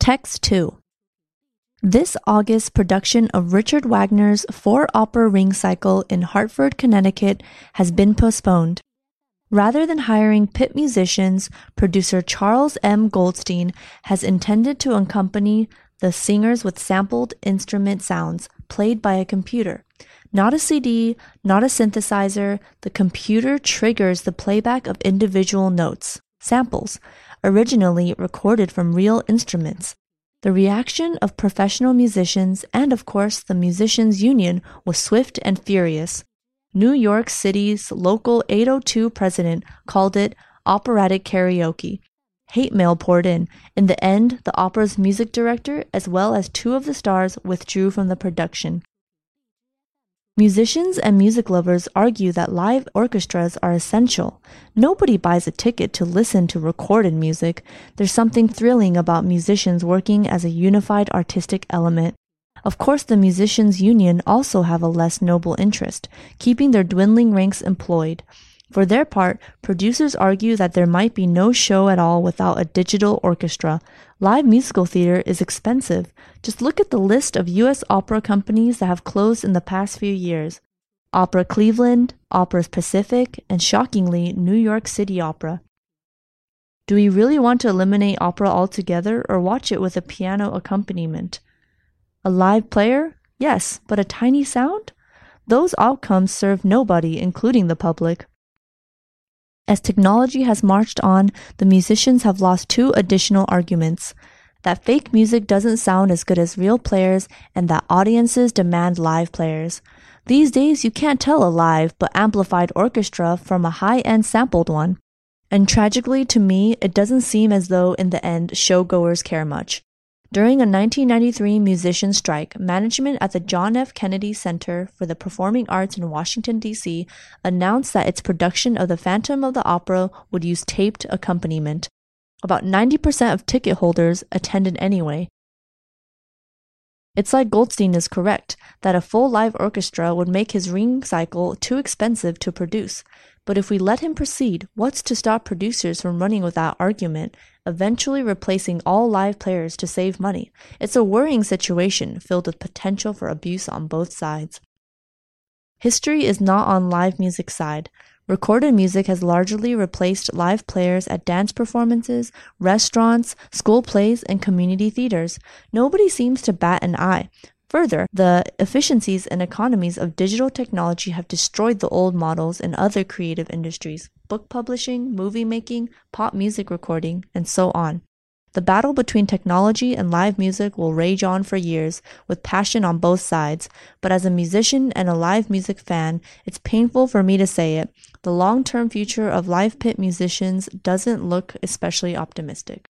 Text 2. This August production of Richard Wagner's 4-opera Ring Cycle in Hartford, Connecticut has been postponed. Rather than hiring pit musicians, producer Charles M. Goldstein has intended to accompany the singers with sampled instrument sounds played by a computer. Not a CD, not a synthesizer, the computer triggers the playback of individual notes, samples, originally recorded from real instruments. The reaction of professional musicians and, of course, the Musicians Union was swift and furious. New York City's local 802 president called it operatic karaoke. Hate mail poured in. In the end, the opera's music director, as well as 2 of the stars, withdrew from the production. Musicians and music lovers argue that live orchestras are essential. Nobody buys a ticket to listen to recorded music. There's something thrilling about musicians working as a unified artistic element. Of course, the Musicians Union also have a less noble interest, keeping their dwindling ranks employed. For their part, producers argue that there might be no show at all without a digital orchestra. Live musical theater is expensive. Just look at the list of U.S. opera companies that have closed in the past few years. Opera Cleveland, Opera Pacific, and shockingly, New York City Opera. Do we really want to eliminate opera altogether or watch it with a piano accompaniment? A live player? Yes, but a tiny sound? Those outcomes serve nobody, including the public. As technology has marched on, the musicians have lost 2 additional arguments: that fake music doesn't sound as good as real players, and that audiences demand live players. These days, you can't tell a live but amplified orchestra from a high-end sampled one. And tragically, to me, it doesn't seem as though in the end, showgoers care much. During a 1993 musician strike, management at the John F. Kennedy Center for the Performing Arts in Washington, D.C. announced that its production of The Phantom of the Opera would use taped accompaniment. About 90% of ticket holders attended anyway. It's like Goldstein is correct, that a full live orchestra would make his Ring Cycle too expensive to produce. But if we let him proceed, what's to stop producers from running with that argument, eventually replacing all live players to save money? It's a worrying situation filled with potential for abuse on both sides. History is not on live music's side. Recorded music has largely replaced live players at dance performances, restaurants, school plays, and community theaters. Nobody seems to bat an eye. Further, the efficiencies and economies of digital technology have destroyed the old models in other creative industries: book publishing, movie making, pop music recording, and so on. The battle between technology and live music will rage on for years, with passion on both sides, but as a musician and a live music fan, it's painful for me to say it. The long-term future of live pit musicians doesn't look especially optimistic.